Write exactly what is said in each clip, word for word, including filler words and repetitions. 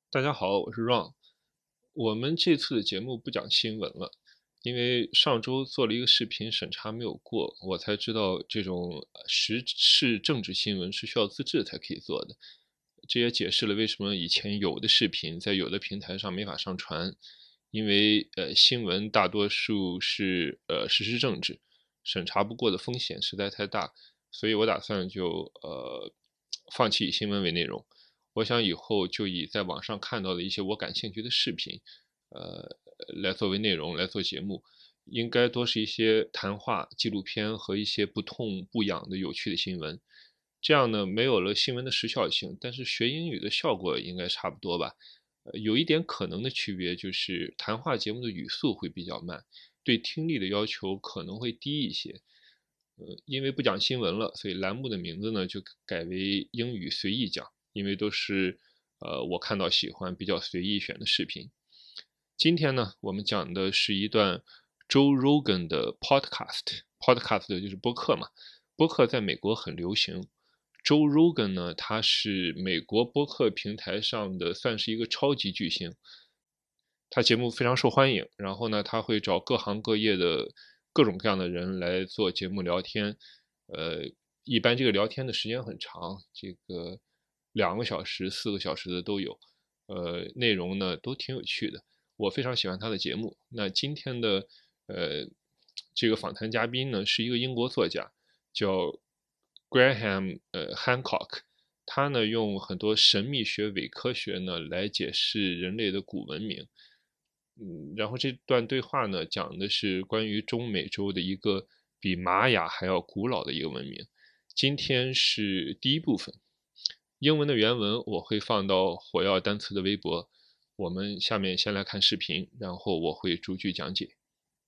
大家好，我是 Ron。我们这次的节目不讲新闻了，因为上周做了一个视频审查没有过，我才知道这种时事政治新闻是需要资质才可以做的。这也解释了为什么以前有的视频在有的平台上没法上传，因为呃新闻大多数是呃时事政治，审查不过的风险实在太大，所以我打算就呃放弃以新闻为内容。我想以后就以在网上看到的一些我感兴趣的视频，呃，来作为内容来做节目，应该多是一些谈话、纪录片和一些不痛不痒的有趣的新闻。这样呢，没有了新闻的时效性，但是学英语的效果应该差不多吧。呃，有一点可能的区别就是谈话节目的语速会比较慢，对听力的要求可能会低一些。呃，因为不讲新闻了，所以栏目的名字呢就改为英语随意讲。因为都是呃我看到喜欢比较随意选的视频。今天呢，我们讲的是一段 Joe Rogan 的 podcast，podcast 就是播客嘛，播客在美国很流行。Joe Rogan 呢，他是美国播客平台上的算是一个超级巨星，他节目非常受欢迎，然后呢，他会找各行各业的各种各样的人来做节目聊天，呃，一般这个聊天的时间很长，这个两个小时、四个小时的都有，呃，内容呢都挺有趣的，我非常喜欢他的节目。那今天的呃这个访谈嘉宾呢是一个英国作家，叫 Graham 呃 Hancock。他呢用很多神秘学、伪科学呢来解释人类的古文明。嗯，然后这段对话呢，讲的是关于中美洲的一个比玛雅还要古老的一个文明。今天是第一部分，英文的原文我会放到火药单词的微博。我们下面先来看视频，然后我会逐句讲解。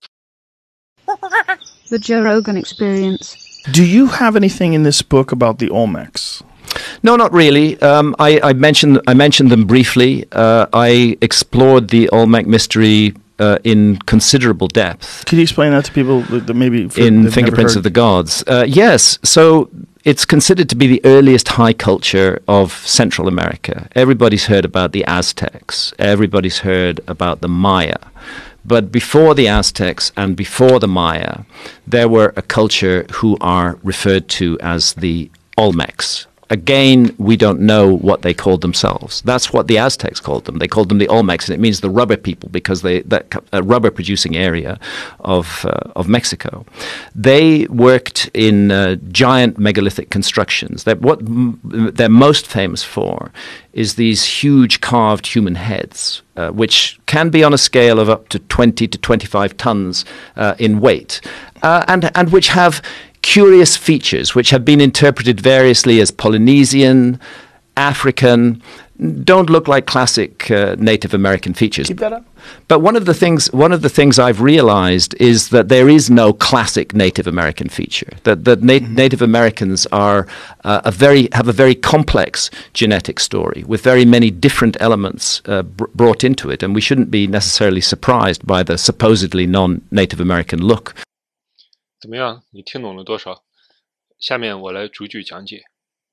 The Joe Rogan Experience. Do you have anything in this book about the Olmecs? No, not really. Um, I, I mentioned I mentioned them briefly. Uh, I explored the Olmec mystery uh, in considerable depth. Could you explain that to people that maybe for, in Fingerprints of the Gods? Uh, yes. So it's considered to be the earliest high culture of Central America. Everybody's heard about the Aztecs. Everybody's heard about the Maya. But before the Aztecs and before the Maya, there were a culture who are referred to as the Olmecs. Again, we don't know what they called themselves. That's what the Aztecs called them. They called them the Olmecs, and it means the rubber people because they that a rubber-producing area of uh, of Mexico. They worked in uh, giant megalithic constructions. That what m- they're most famous for is these huge carved human heads, uh, which can be on a scale of up to twenty to twenty-five tons uh, in weight, uh, and and which have curious features which have been interpreted variously as Polynesian, African, don't look like classic uh, Native American features. Keep that up. But one of the things one of the things I've realized is that there is no classic Native American feature. That that Na- mm-hmm. Native Americans are uh, a very have a very complex genetic story with very many different elements uh, br- brought into it, and we shouldn't be necessarily surprised by the supposedly non-Native American look. 怎么样？你听懂了多少？下面我来逐句讲解。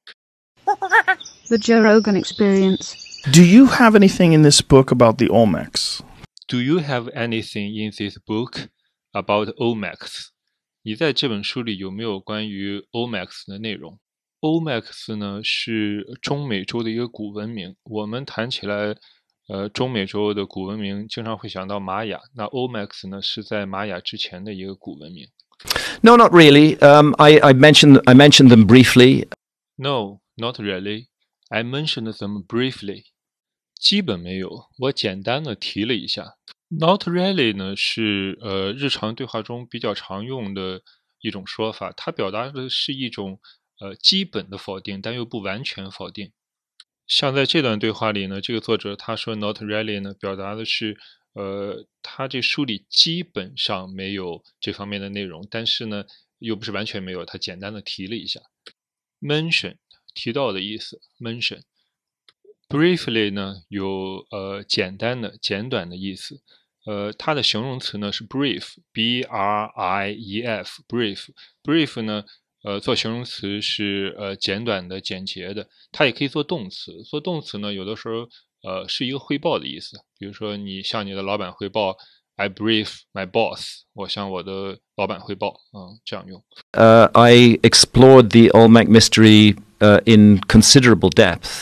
The Joe Rogan Experience. Do you have anything in this book about the Olmecs? Do you have anything in this book about Olmecs? 你在这本书里有没有关于 Olmecs 的内容？ Olmecs 呢是中美洲的一个古文明。我们谈起来，呃，中美洲的古文明经常会想到玛雅，那 Olmecs 呢是在玛雅之前的一个古文明。 No, not really. Um, I, I mentioned I mentioned them briefly. No, not really. I mentioned them briefly. 基本没有，我简单的提了一下。Not really 呢是呃日常对话中比较常用的一种说法，它表达的是一种呃基本的否定，但又不完全否定。像在这段对话里呢，这个作者他说 not really 呢，表达的是呃他这书里基本上没有这方面的内容，但是呢又不是完全没有，他简单的提了一下。Mention 提到的意思 mention。 Briefly 呢有呃简单的简短的意思，呃它的形容词呢是 brief B R I E F brief brief 呢呃做形容词是呃简短的简洁的，它也可以做动词，做动词呢有的时候呃，是一个汇报的意思。比如说，你向你的老板汇报 ，I brief my boss， 我向我的老板汇报，嗯，这样用。 Uh, I explored the Olmec mystery uh, in considerable depth.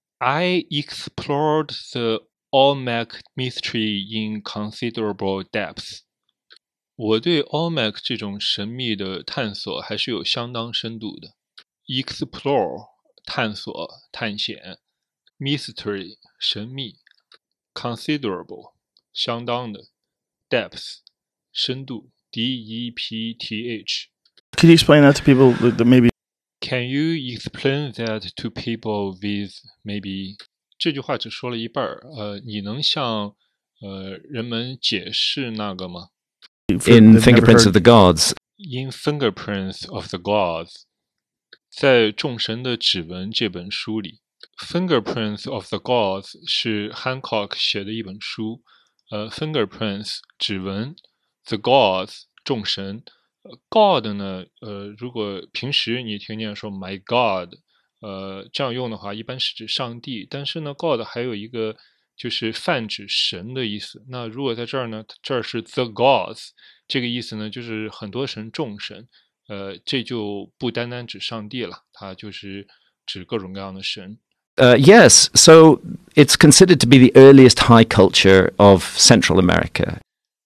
I explored the Olmec mystery in considerable depth. 我对 Olmec 这种神秘的探索还是有相当深度的。Explore 探索、探险 ，mystery 神秘 ，considerable 相当的 ，depth 深度 ，D E P T H。 Could you explain that to people that maybe? Can you explain that to people with maybe？ 这句话只说了一半儿，呃，你能向呃人们解释那个吗 In Fingerprints of the Gods, ？In Fingerprints of the Gods， 在《众神的指纹》这本书里 ，Fingerprints of the Gods 是 Hancock 写的一本书，呃 ，Fingerprints 指纹 ，The Gods 众神。God 呢，呃，如果平时你听见说 My God， 呃，这样用的话，一般是指上帝。但是呢 ，God 还有一个就是泛指神的意思。那如果在这儿呢，这儿是 The Gods， 这个意思呢，就是很多神、众神。呃，这就不单单指上帝了，它就是指各种各样的神。 Uh, yes, so it's considered to be the earliest high culture of Central America.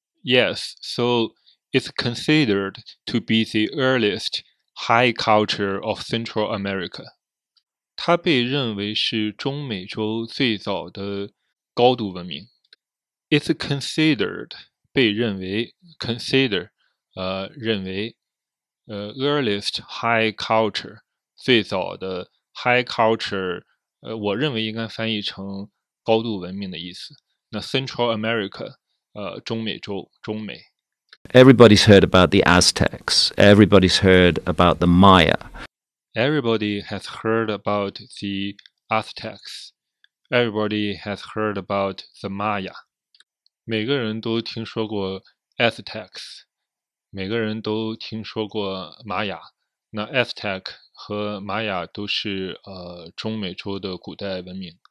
Yes, so it's considered to be the earliest high culture of Central America. 它被认为是中美洲最早的高度文明。It's considered 被认为 consider 呃认为呃 earliest high culture 最早的 high culture 呃我认为应该翻译成高度文明的意思。那 Central America 呃中美洲中美。 Everybody's heard about the Aztecs. Everybody's heard about the Maya. Everybody has heard about the Aztecs. Everybody has heard about the Maya. 每个人都听说过 Aztecs. 每个人都听说过玛雅。那 Aztec 和玛雅都是呃中美洲的古代文明。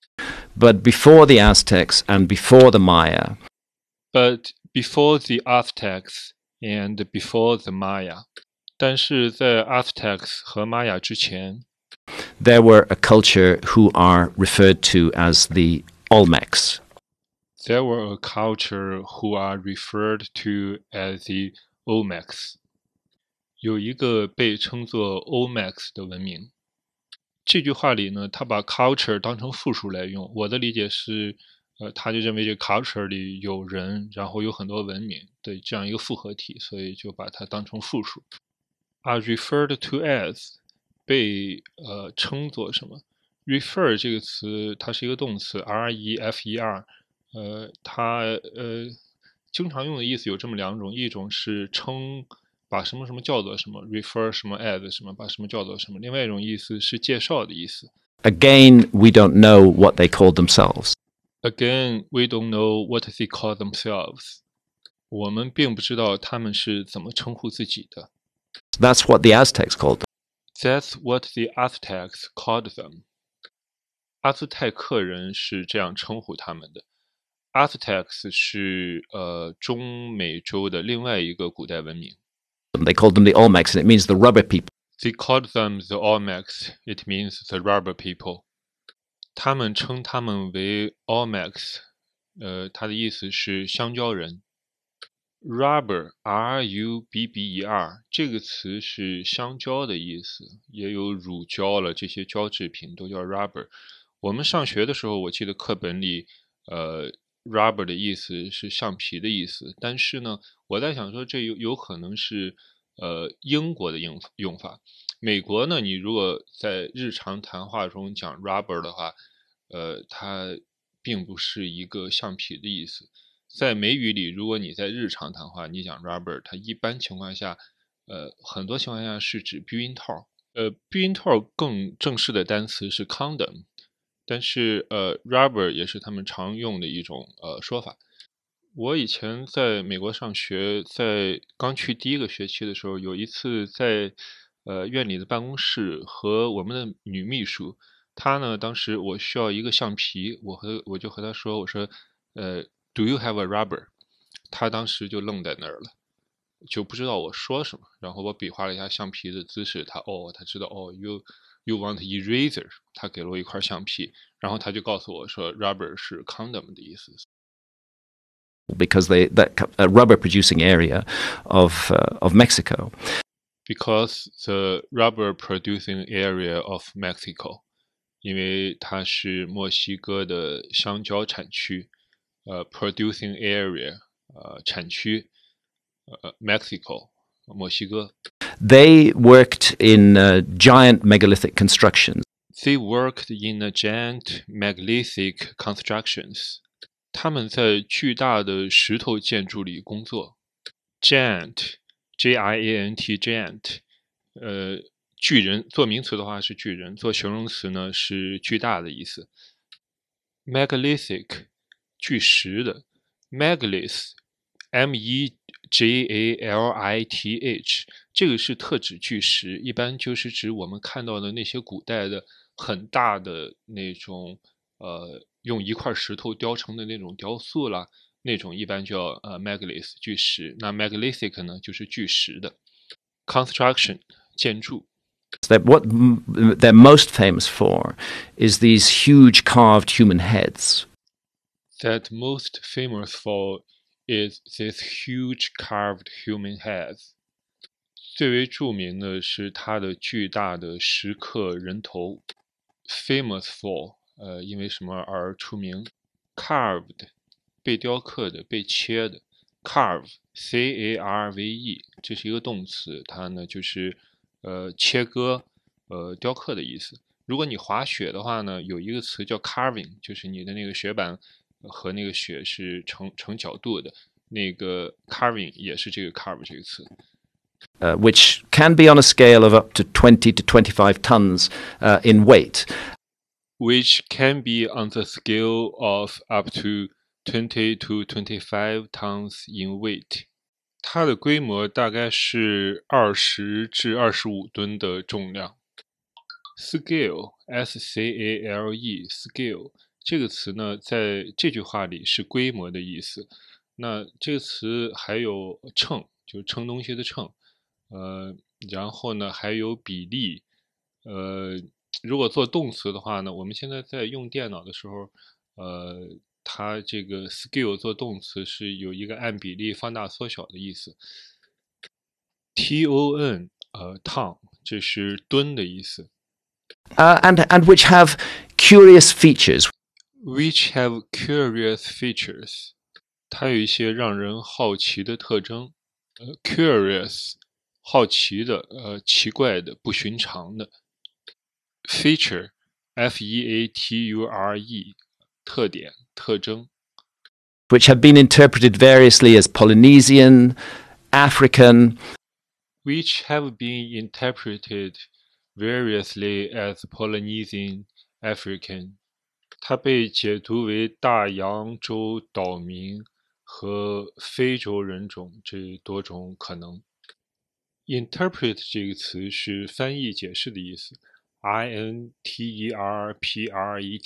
But before the Aztecs and before the Maya, But before the Aztecs and before the Maya， 但是在 Aztecs 和玛雅之前 there were a culture who are referred to as the Olmecs. there were a culture who are referred to as the Olmecs。 有一个被称作 Olmecs 的文明。这句话里呢，他把 culture 当成复数来用。我的理解是呃，他就认为这 culture 里有人，然后有很多文明的这样一个复合体，所以就把它当成复数。are referred to as 被呃称作什么 ？refer 这个词它是一个动词 ，r e f e r， 呃，它呃经常用的意思有这么两种，一种是称把什么什么叫做什么 ，refer 什么 as 什么，把什么叫做什么；另外一种意思是介绍的意思。 Again, we don't know what they called themselves. Again, we don't know what they call themselves. 我们并不知道他们是怎么称呼自己的。 That's what the Aztecs called them. That's what the Aztecs called them. 阿兹泰克人是这样称呼他们的。Aztecs 是呃中美洲的另外一个古代文明。 They called them the Olmecs, and it means the rubber people. They called them the Olmecs. It means the rubber people. 他们称他们为 Olmecs， 呃，它的意思是香蕉人。Rubber, R U B B E R 这个词是香蕉的意思，也有乳胶了，这些胶制品都叫 rubber。我们上学的时候，我记得课本里，呃 ，rubber 的意思是橡皮的意思。但是呢，我在想说，这有有可能是呃英国的用用法。美国呢，你如果在日常谈话中讲 rubber 的话，呃，它并不是一个橡皮的意思。在美语里，如果你在日常谈话，你讲 rubber， 它一般情况下，呃，很多情况下是指避孕套。呃，避孕套更正式的单词是 condom， 但是呃 ，rubber 也是他们常用的一种呃说法。我以前在美国上学，在刚去第一个学期的时候，有一次在呃院里的办公室和我们的女秘书他呢，当时我需要一个橡皮，我和我就和他说，我说，呃 ，Do you have a rubber？ 他当时就愣在那儿了，就不知道我说什么。然后我比划了一下橡皮的姿势，他哦，他知道哦 ，you you want eraser？ 他给了我一块橡皮，然后他就告诉我说 ，rubber 是 condom 的意思。 Because they that uh, rubber producing area of uh, of Mexico. Because the rubber producing area of Mexico， 因为它是墨西哥的香蕉产区，呃 ，producing area， 呃，产区，呃 ，Mexico， 墨西哥。 They worked in uh, giant megalithic constructions. They worked in a giant megalithic constructions。他们在巨大的石头建筑里工作。Giant。G I A N T giant， 呃，巨人做名词的话是巨人，做形容词呢是巨大的意思。Megalithic， 巨石的。Megalith， M E G A L I T H， 这个是特指巨石，一般就是指我们看到的那些古代的很大的那种，呃，用一块石头雕成的那种雕塑啦。那种一般叫呃 megalith 巨石，那 megalithic 呢就是巨石的 construction 建筑。 That what they're most famous for is these huge carved human heads. That most famous for is this huge carved human heads. 最为著名的是它的巨大的石刻人头。Famous for 呃因为什么而出名 ？Carved。被雕刻的，被切的 ，carve C A R V E， 这是一个动词，它呢就是呃切割、呃雕刻的意思。如果你滑雪的话呢，有一个词叫 carving， 就是你的那个雪板和那个雪是成成角度的，那个 carving 也是这个 carve 这个词。 Uh, which can be on a scale of up to twenty to twenty-five tons uh, in weight. Which can be on the scale of up to twenty to twenty-five tons in weight， 它的规模大概是二十至二十五吨的重量。Scale S C A L E scale 这个词呢，在这句话里是规模的意思。那这个词还有称，就是称东西的称，呃，然后呢还有比例，呃，如果做动词的话呢，我们现在在用电脑的时候，呃。它这个 scale 做动词是有一个按比例放大缩小的意思。T O N 呃 ton 这是吨的意思。 Uh, and and which have curious features. Which have curious features， 它有一些让人好奇的特征。呃 curious 好奇的，呃奇怪的，不寻常的。Feature F E A T U R E 特点。特征 which have been interpreted variously as Polynesian, African, which have been interpreted variously as Polynesian, African. 它被解读为大洋洲岛民和非洲人种这多种可能。Interpret 这个词是翻译解释的意思 ，I N T E R P R E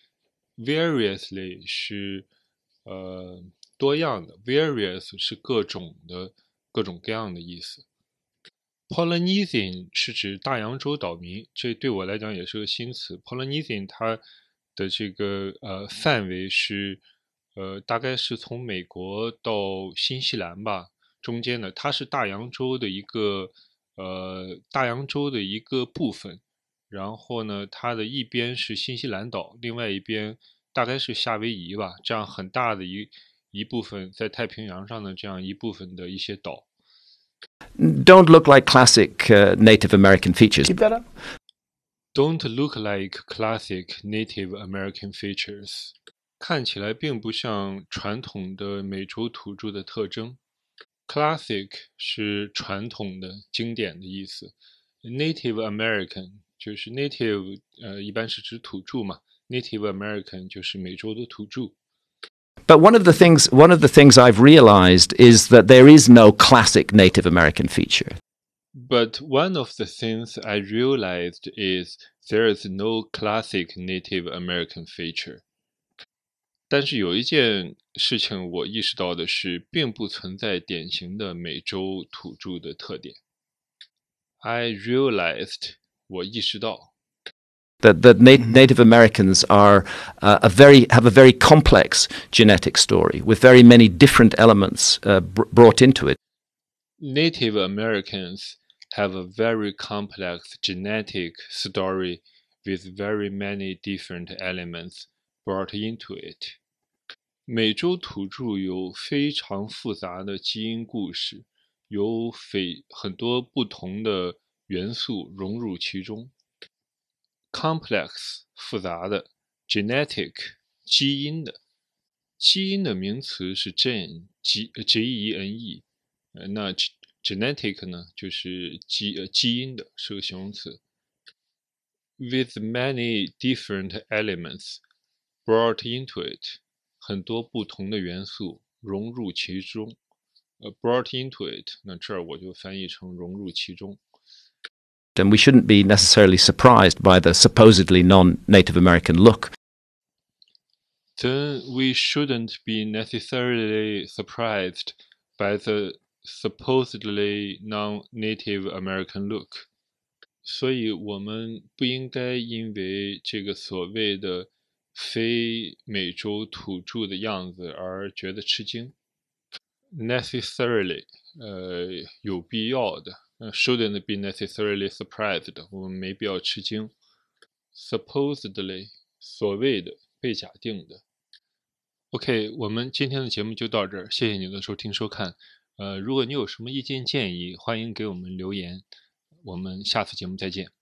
T。Variously 是呃多样的 ，various 是各种的、各种各样的意思。Polynesian 是指大洋洲岛民，这对我来讲也是个新词。Polynesian 它的这个呃范围是呃大概是从美国到新西兰吧，中间的，它是大洋洲的一个呃大洋洲的一个部分。然后呢，它的一边是新西兰岛，另外一边大概是夏威夷吧，这样很大的一一部分在太平洋上的这样一部分的一些岛。 Don't look like classic uh, Native American features. Keep that up. Don't look like classic Native American features. 看起来并不像传统的美洲土著的特征。Classic 是传统的、经典的意思。Native American 就是 native， 呃，一般是指土著嘛。Native American 就是美洲的土著。 But one of the things, one of the things I've realized is that there is no classic Native American feature. But one of the things I realized is there is no classic Native American feature. 但是有一件事情我意识到的是，并不存在典型的美洲土著的特点。I realized 我意识到 that that nat- Native Americans are uh, a very have a very complex genetic story with very many different elements uh, br- brought into it. Native Americans have a very complex genetic story with very many different elements brought into it. 美洲土著有非常复杂的基因故事，有非很多不同的元素融入其中。Complex 复杂的 ，genetic 基因的，基因的名词是 gene G G E N E， 呃，那 genetic 呢就是基呃基因的是个形容词。With many different elements brought into it， 很多不同的元素融入其中。呃 ，brought into it， 那这儿我就翻译成融入其中。 And we shouldn't be necessarily surprised by the supposedly non-Native American look. Then we shouldn't be necessarily surprised by the supposedly non-Native American look. 所以我们不应该因为这个所谓的非美洲土著的样子而觉得吃惊。Necessarily， 呃，有必要的。Uh, shouldn't be necessarily surprised， 我们没必要吃惊。Supposedly， 所谓的，被假定的。OK， 我们今天的节目就到这儿，谢谢你的收听收看。呃，如果你有什么意见建议，欢迎给我们留言。我们下次节目再见。